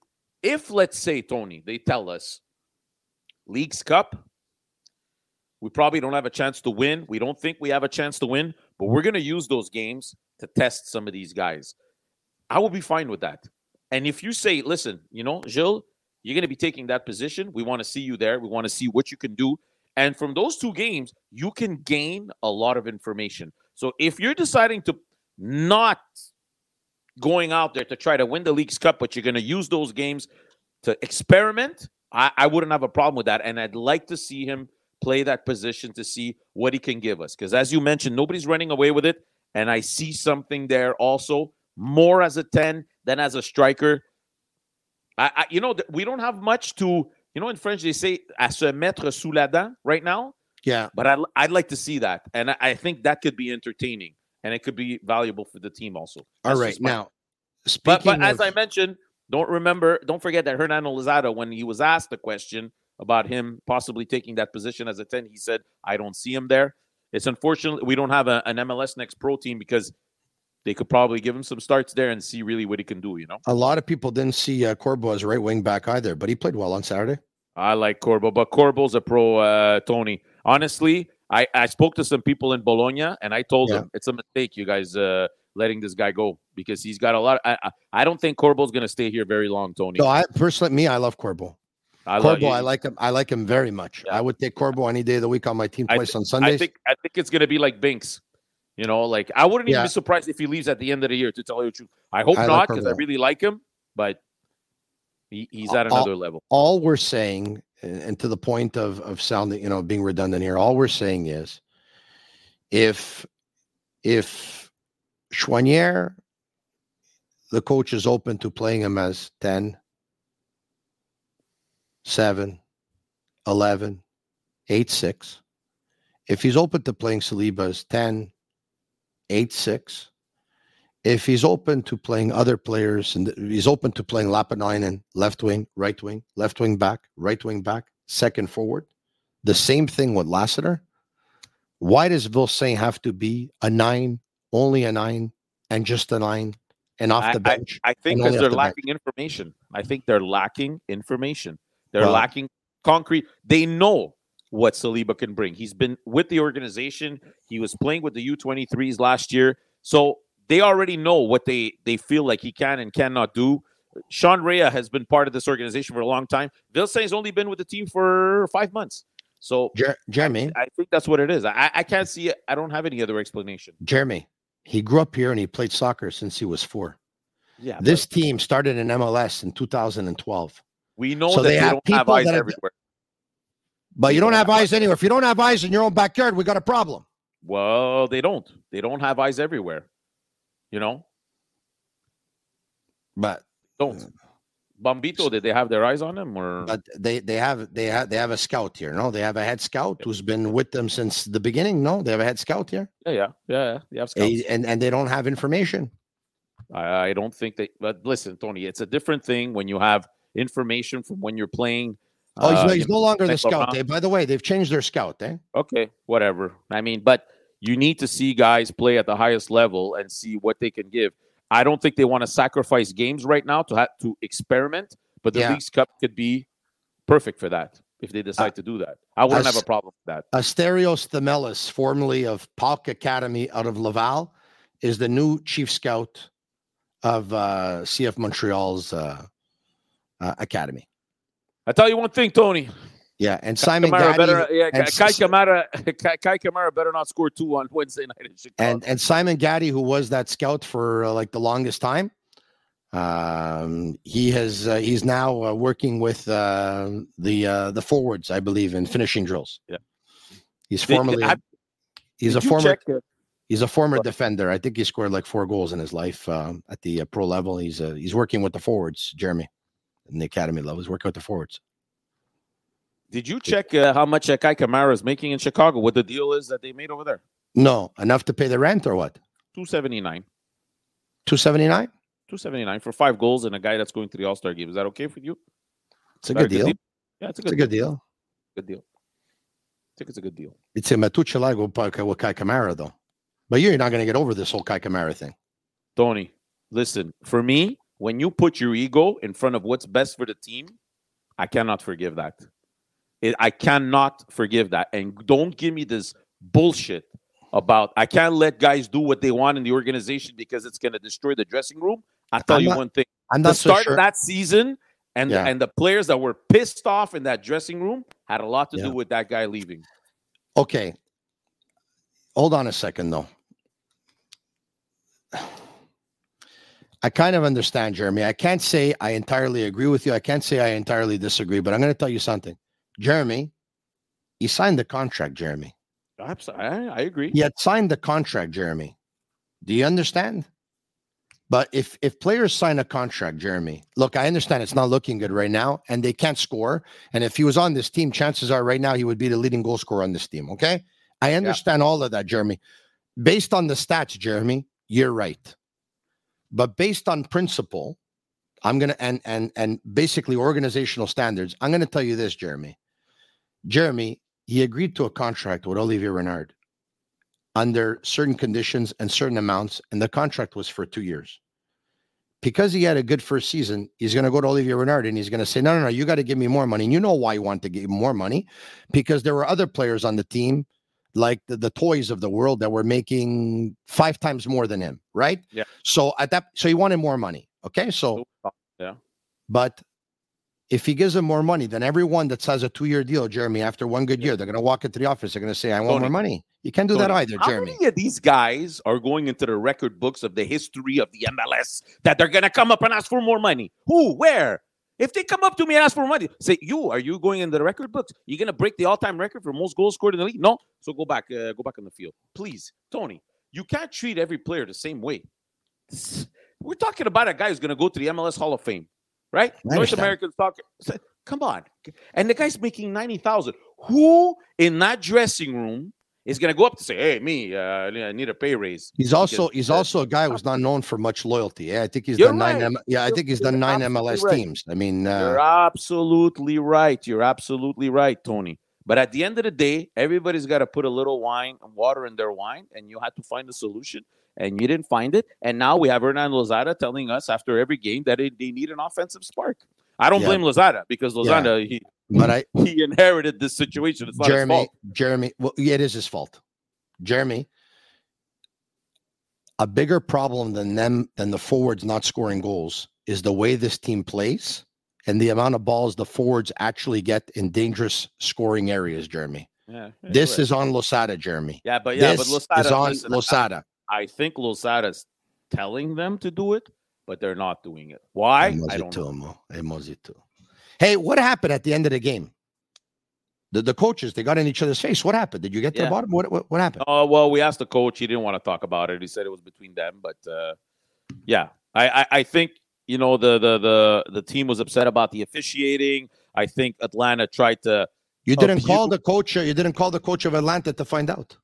if, let's say, Tony, they tell us Leagues Cup, we probably don't have a chance to win. We don't think we have a chance to win, but we're going to use those games to test some of these guys. I will be fine with that. And if you say, listen, you know, Gilles, you're going to be taking that position. We want to see you there. We want to see what you can do. And from those two games, you can gain a lot of information. So if you're deciding to not going out there to try to win the Leagues Cup, but you're going to use those games to experiment, I, I wouldn't have a problem with that. And I'd like to see him play that position to see what he can give us. Because as you mentioned, nobody's running away with it. And I see something there also, more as a ten than as a striker. I, I you know, we don't have much to, you know, in French, they say, à se mettre sous la dent right now. Yeah. But I'd, I'd like to see that. And I, I think that could be entertaining. And it could be valuable for the team also. That's All right. my, Now, speaking but, but of, as I mentioned, don't remember, don't forget that Hernando Lozada, when he was asked the question about him possibly taking that position as a ten, he said, I don't see him there. It's unfortunate we don't have a, an M L S Next Pro team because they could probably give him some starts there and see really what he can do, you know? a lot of people didn't see uh, Corbo as right wing back either, but he played well on Saturday. I like Corbo, but Corbo's a pro, uh, Tony. Honestly, I, I spoke to some people in Bologna, and I told Yeah. them it's a mistake, you guys, uh, letting this guy go because he's got a lot. Of, I, I don't think Corbo's going to stay here very long, Tony. No, I personally, me, I love Corbo. I Corbo, love, I like him. I like him very much. Yeah. I would take Corbo any day of the week on my team I twice th- on Sundays. I think I think it's going to be like Binks. You know, like I wouldn't even Yeah. be surprised if he leaves at the end of the year, to tell you the truth. I hope I like not because I Corbo. really like him, but he, he's at All- another level. all we're saying, and and to the point of of sounding, you know, being redundant here, all we're saying is, if if Choinière, the coach is open to playing him as ten, seven, eleven, eight, six. If he's open to playing Saliba as ten, eight, six. If he's open to playing other players, and he's open to playing Lapanainen, left wing, right wing, left wing back, right wing back, second forward, the same thing with Lassiter. Why does Vilsaint have to be a nine, only a nine, and just a nine, and off I, the bench? I, I think and because only they're off the lacking information. I think they're lacking information. They're Well- lacking concrete. They know what Saliba can bring. He's been with the organization. He was playing with the U twenty-threes last year. So they already know what they, they feel like he can and cannot do. Sean Rea has been part of this organization for a long time. Vilsaint has only been with the team for five months. So Jer- Jeremy, I think that's what it is. I, I can't see it. I don't have any other explanation. Jeremy, he grew up here and he played soccer since he was four. Yeah, This team started in M L S in two thousand twelve. we know so that they they, have don't have people eyes that are- everywhere. But you People don't have have eyes anywhere. If you don't have eyes in your own backyard, we got a problem. Well, they don't. They don't have eyes everywhere. You know, But don't. Bombito, did they have their eyes on him, or but they they have they have they have a scout here. No, they have a head scout who's been with them since the beginning. No, they have a head scout here, yeah, yeah, yeah, yeah. They have scouts. and and they don't have information. I, I don't think they. But listen, Tony, it's a different thing when you have information from when you're playing. Oh, he's, uh, no, he's no longer the Nick scout. Laurent. Eh? By the way, they've changed their scout. Eh? Okay, whatever. I mean, but you need to see guys play at the highest level and see what they can give. I don't think they want to sacrifice games right now to have to experiment, but the Yeah. Leagues Cup could be perfect for that if they decide Uh, to do that. I wouldn't as- have a problem with that. Asterios Themelis, formerly of Palk Academy out of Laval, is the new chief scout of uh, C F Montreal's uh, uh, academy. I tell you one thing, Tony. Yeah, and Simon Kamara Gaddy, better, yeah, and Kai S- Kamara, Kai, Kai Kamara better not score two on Wednesday night in Chicago. and and Simon Gaddy, who was that scout for uh, like the longest time, um, he has uh, he's now uh, working with uh, the uh, the forwards, I believe, in finishing drills. Yeah. he's Did- formerly have- he's did a you former check, uh, he's a former What? defender. I think he scored like four goals in his life um, at the uh, pro level. He's uh, he's working with the forwards, Jeremy, in the academy level. He's working with the forwards. Did you check uh, how much uh, Kai Kamara is making in Chicago? What the deal is that they made over there? No, enough to pay the rent or what? two seventy-nine. Two seventy nine. two seventy-nine for five goals and a guy that's going to the All-Star game. Is that okay for you? It's a Is that good deal. Yeah, it's a It's good, a good deal. good deal. I think it's a good deal. It's a Matuchelago with Kai Kamara though, but you're not going to get over this whole Kai Kamara thing. Tony, listen, for me, when you put your ego in front of what's best for the team, I cannot forgive that. It, I cannot forgive that. And don't give me this bullshit about I can't let guys do what they want in the organization because it's going to destroy the dressing room. I'll tell I'm you not, one thing. I'm the not start so sure. of that season and, yeah. the, and the players that were pissed off in that dressing room had a lot to yeah. do with that guy leaving. Okay. Hold on a second, though. I kind of understand, Jeremy. I can't say I entirely agree with you. I can't say I entirely disagree, but I'm going to tell you something. Jeremy, he signed the contract, Jeremy. I, I agree. He had signed the contract, Jeremy. Do you understand? But if if players sign a contract, Jeremy, look, I understand it's not looking good right now, and they can't score. And if he was on this team, chances are right now he would be the leading goal scorer on this team, okay? I understand yeah. all of that, Jeremy. Based on the stats, Jeremy, you're right. But based on principle, I'm going to, and, and, and basically organizational standards, I'm going to tell you this, Jeremy. Jeremy, he agreed to a contract with Olivier Renard under certain conditions and certain amounts, and the contract was for two years. Because he had a good first season, he's going to go to Olivier Renard and he's going to say, no, no, no, you got to give me more money. And you know why you want to give him more money? Because there were other players on the team, like the, the toys of the world, that were making five times more than him, right? Yeah. So at that, so he wanted more money. Okay. So, yeah. But if he gives him more money, then everyone that has a two-year deal, Jeremy, after one good year, they're going to walk into the office. They're going to say, I want Tony, more money. You can't do Tony, that either, how Jeremy. How many of these guys are going into the record books of the history of the M L S that they're going to come up and ask for more money? Who? Where? If they come up to me and ask for money, say, you, are you going into the record books? You're going to break the all-time record for most goals scored in the league? No? So go back, uh, go back on the field. Please, Tony, you can't treat every player the same way. We're talking about a guy who's going to go to the M L S Hall of Fame, right? North Americans talk. Come on. And the guy's making ninety thousand dollars. Who in that dressing room is going to go up to say, hey, me, uh, I need a pay raise? He's also because, he's uh, also a guy who's not known for much loyalty. Yeah, I think he's You're done right. nine. M- yeah, I think he's done nine M L S right. teams. I mean, uh, you're absolutely right. You're absolutely right, Tony. But at the end of the day, everybody's got to put a little wine and water in their wine, and you had to find a solution, and you didn't find it. And now we have Hernan Lozada telling us after every game that it, they need an offensive spark. I don't yeah. blame Lozada because Lozada yeah. he but I, he inherited this situation. It's not Jeremy, his fault. Jeremy, well, yeah, it is his fault. Jeremy, a bigger problem than them than the forwards not scoring goals is the way this team plays and the amount of balls the forwards actually get in dangerous scoring areas, Jeremy. Yeah, this right. is on Losada, Jeremy. Yeah, but yeah, this but Losada is on listen, Losada. I, I think Losada's telling them to do it, but they're not doing it. Why? I don't know. Hey, what happened at the end of the game? The, the coaches, they got in each other's face. What happened? Did you get to yeah. the bottom? What, what what happened? Oh, uh, well, we asked the coach. He didn't want to talk about it. He said it was between them. But, uh, yeah, I, I, I think, you know, the, the the the team was upset about the officiating. I think Atlanta tried to. You didn't abuse- call the coach. You didn't call the coach of Atlanta to find out.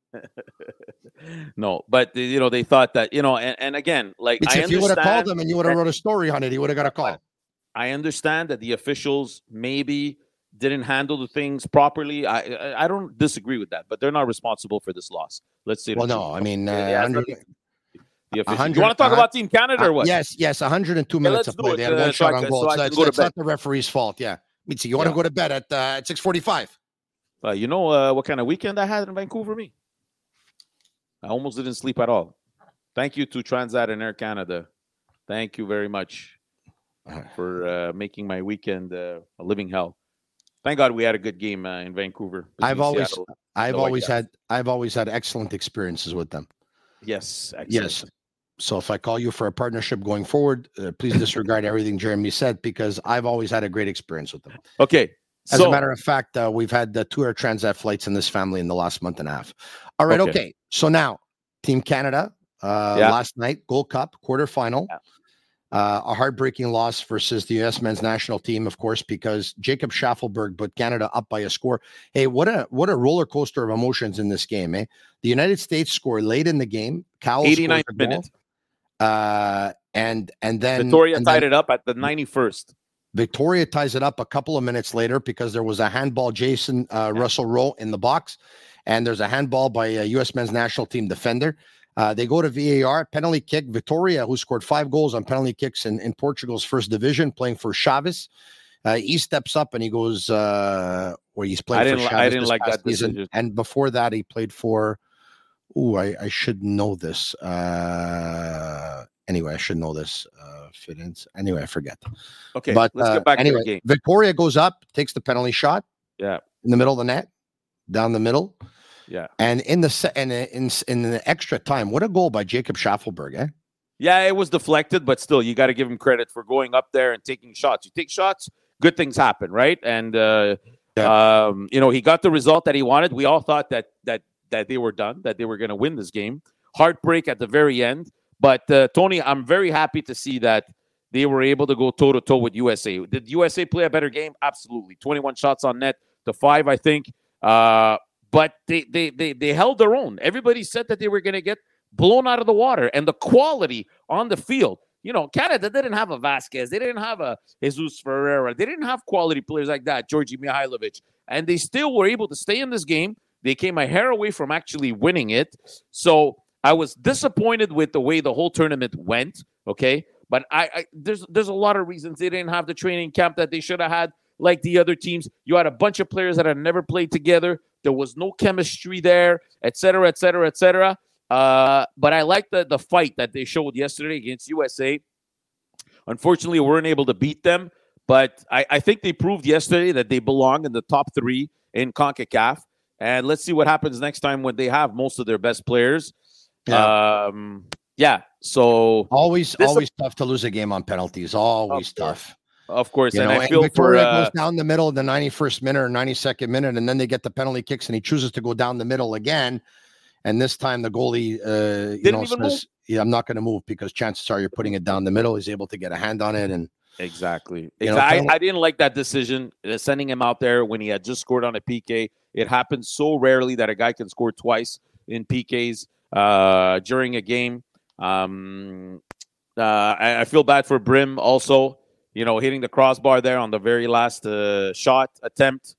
No, but, you know, they thought that, you know, and, and again, like, It's I if you would have called understand him and you would have that- wrote a story on it, he would have got a call. I understand that the officials maybe didn't handle the things properly. I, I I don't disagree with that, but they're not responsible for this loss. Let's say. Well, no, I mean, uh, Yeah, one hundred, the officials. hundred- You want to talk uh, about Team Canada or what? uh, yes, yes, one hundred two Yeah, minutes let's of play. do They it, had uh, one shot so I on can- goal. so I So can it's, go to it's bed. not the referee's fault. Yeah, Mitzi, you want to Yeah. go to bed at uh, at six forty-five? Uh, you know uh, what kind of weekend I had in Vancouver? Me, I almost didn't sleep at all. Thank you to Transat and Air Canada. Thank you very much for uh, making my weekend uh, a living hell. Thank God we had a good game uh, in Vancouver. I've always, Seattle. I've No, I always got had, I've always had excellent experiences with them. Yes, excellent. Yes. So if I call you for a partnership going forward, uh, please disregard everything Jeremy said because I've always had a great experience with them. Okay. As so, a matter of fact, uh, we've had the two Air Transat flights in this family in the last month and a half. All right. Okay. Okay. So now, Team Canada, uh, Yeah. last night, Gold Cup quarterfinal. Yeah. Uh, a heartbreaking loss versus the U S men's national team, of course, because Jacob Schaffelberg put Canada up by a score. Hey, what a what a roller coaster of emotions in this game, eh? The United States scored late in the game. Cowell eighty-ninth scored the goal. minute. Uh, and and then Victoria and tied then it up at the ninety-first. Victoria ties it up a couple of minutes later because there was a handball, Jason uh, Yeah. Russell Rowe in the box, and there's a handball by a U S men's national team defender. Uh, they go to V A R, penalty kick. Vitória, who scored five goals on penalty kicks in, in Portugal's first division, playing for Chaves. Uh, he steps up and he goes, uh, where he's playing I for didn't, Chaves I didn't this like past that season. decision. And before that, he played for, ooh, I, I should know this. Uh, anyway, I should know this. Uh, fit-ins. Anyway, I forget. Okay, but, let's uh, get back anyway, to the game. Vitória goes up, takes the penalty shot. Yeah. In the middle of the net, down the middle. Yeah. And in the se- and in in the extra time, what a goal by Jacob Schaffelberg, eh? Yeah, it was deflected, but still, you got to give him credit for going up there and taking shots. You take shots, good things happen, right? And uh, yeah. um, you know, he got the result that he wanted. We all thought that that that they were done, that they were going to win this game. Heartbreak at the very end, but uh, Tony, I'm very happy to see that they were able to go toe to toe with U S A. Did U S A play a better game? Absolutely, twenty-one shots on net to five, I think. Uh, but they they they they held their own. Everybody said that they were going to get blown out of the water, and the quality on the field. You know, Canada didn't have a Vasquez. They didn't have a Jesus Ferreira. They didn't have quality players like that, Georgi Mihailovic. And they still were able to stay in this game. They came a hair away from actually winning it. So I was disappointed with the way the whole tournament went, okay? But I, I there's there's a lot of reasons they didn't have the training camp that they should have had, like the other teams. You had a bunch of players that had never played together. There was no chemistry there, et cetera, et cetera, et cetera. Uh, but I like the, the fight that they showed yesterday against U S A. Unfortunately, we weren't able to beat them, but I, I think they proved yesterday that they belong in the top three in CONCACAF. And let's see what happens next time when they have most of their best players. Yeah. Um, yeah. So always, always a- tough to lose a game on penalties. Always of tough. Of course. You and know, I feel and Vitória for uh, goes down the middle of the ninety-first minute or ninety-second minute, and then they get the penalty kicks, and he chooses to go down the middle again. And this time the goalie, uh, you know, says, yeah, I'm not going to move because chances are you're putting it down the middle. He's able to get a hand on it. And exactly. You know, I, I didn't like that decision, uh, sending him out there when he had just scored on a P K. It happens so rarely that a guy can score twice in P Ks uh, during a game. Um, uh, I, I feel bad for Brim also, you know, hitting the crossbar there on the very last uh, shot attempt.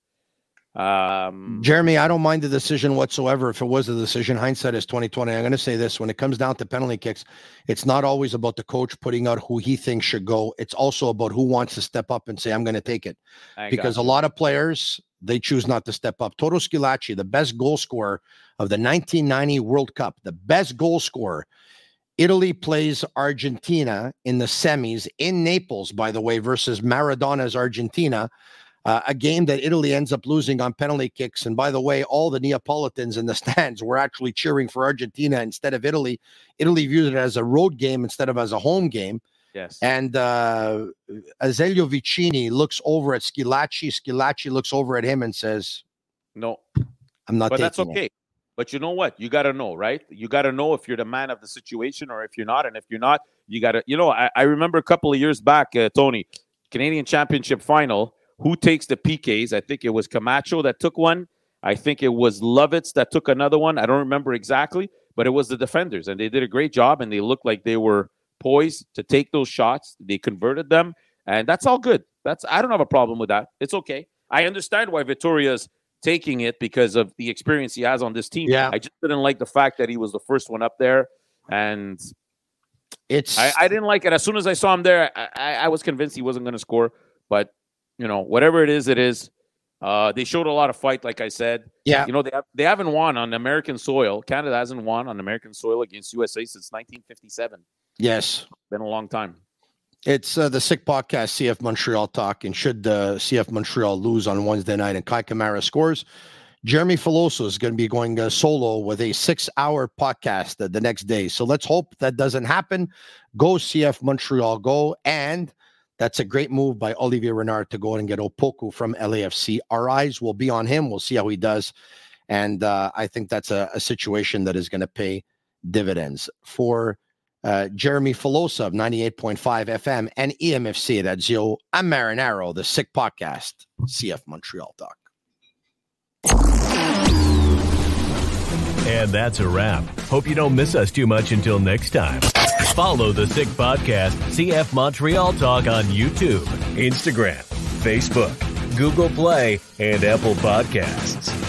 Um, Jeremy, I don't mind the decision whatsoever. If it was a decision, hindsight is twenty twenty. I'm going to say this: when it comes down to penalty kicks, it's not always about the coach putting out who he thinks should go. It's also about who wants to step up and say, "I'm going to take it," because a lot of players, they choose not to step up. Toto Schillaci, the best goal scorer of the nineteen ninety World Cup, the best goal scorer. Italy plays Argentina in the semis in Naples, by the way, versus Maradona's Argentina. Uh, a game that Italy ends up losing on penalty kicks. And by the way, all the Neapolitans in the stands were actually cheering for Argentina instead of Italy. Italy viewed it as a road game instead of as a home game. Yes. And uh, Azeglio Vicini looks over at Schillaci. Schillaci looks over at him and says, no, I'm not but taking that's okay. It. But you know what? You got to know, right? You got to know if you're the man of the situation or if you're not. And if you're not, you got to, you know, I, I remember a couple of years back, uh, Tony, Canadian Championship final. Who takes the P Ks? I think it was Camacho that took one. I think it was Lovitz that took another one. I don't remember exactly, but it was the defenders, and they did a great job, and they looked like they were poised to take those shots. They converted them, and that's all good. That's I don't have a problem with that. It's okay. I understand why Vitória's taking it because of the experience he has on this team. Yeah. I just didn't like the fact that he was the first one up there, and it's I, I didn't like it. As soon as I saw him there, I, I, I was convinced he wasn't going to score, but you know, whatever it is, it is. Uh, they showed a lot of fight, like I said. Yeah. You know, they have, they haven't won on American soil. Canada hasn't won on American soil against U S A since nineteen fifty-seven. Yes. Been a long time. It's uh, the Sick Podcast, C F Montreal Talk. And should uh, C F Montreal lose on Wednesday night and Kai Kamara scores, Jeremy Filoso is going to be going uh, solo with a six-hour podcast uh, the next day. So let's hope that doesn't happen. Go C F Montreal, go. And that's a great move by Olivier Renard to go and get Opoku from L A F C. Our eyes will be on him. We'll see how he does. And uh, I think that's a, a situation that is going to pay dividends. For uh, Jeremy Filosa of ninety-eight point five F M and E M F C, that's Zio I'm Marinaro, the Sick Podcast, C F Montreal Talk. And that's a wrap. Hope you don't miss us too much until next time. Follow the Sick Podcast, C F Montreal Talk on YouTube, Instagram, Facebook, Google Play, and Apple Podcasts.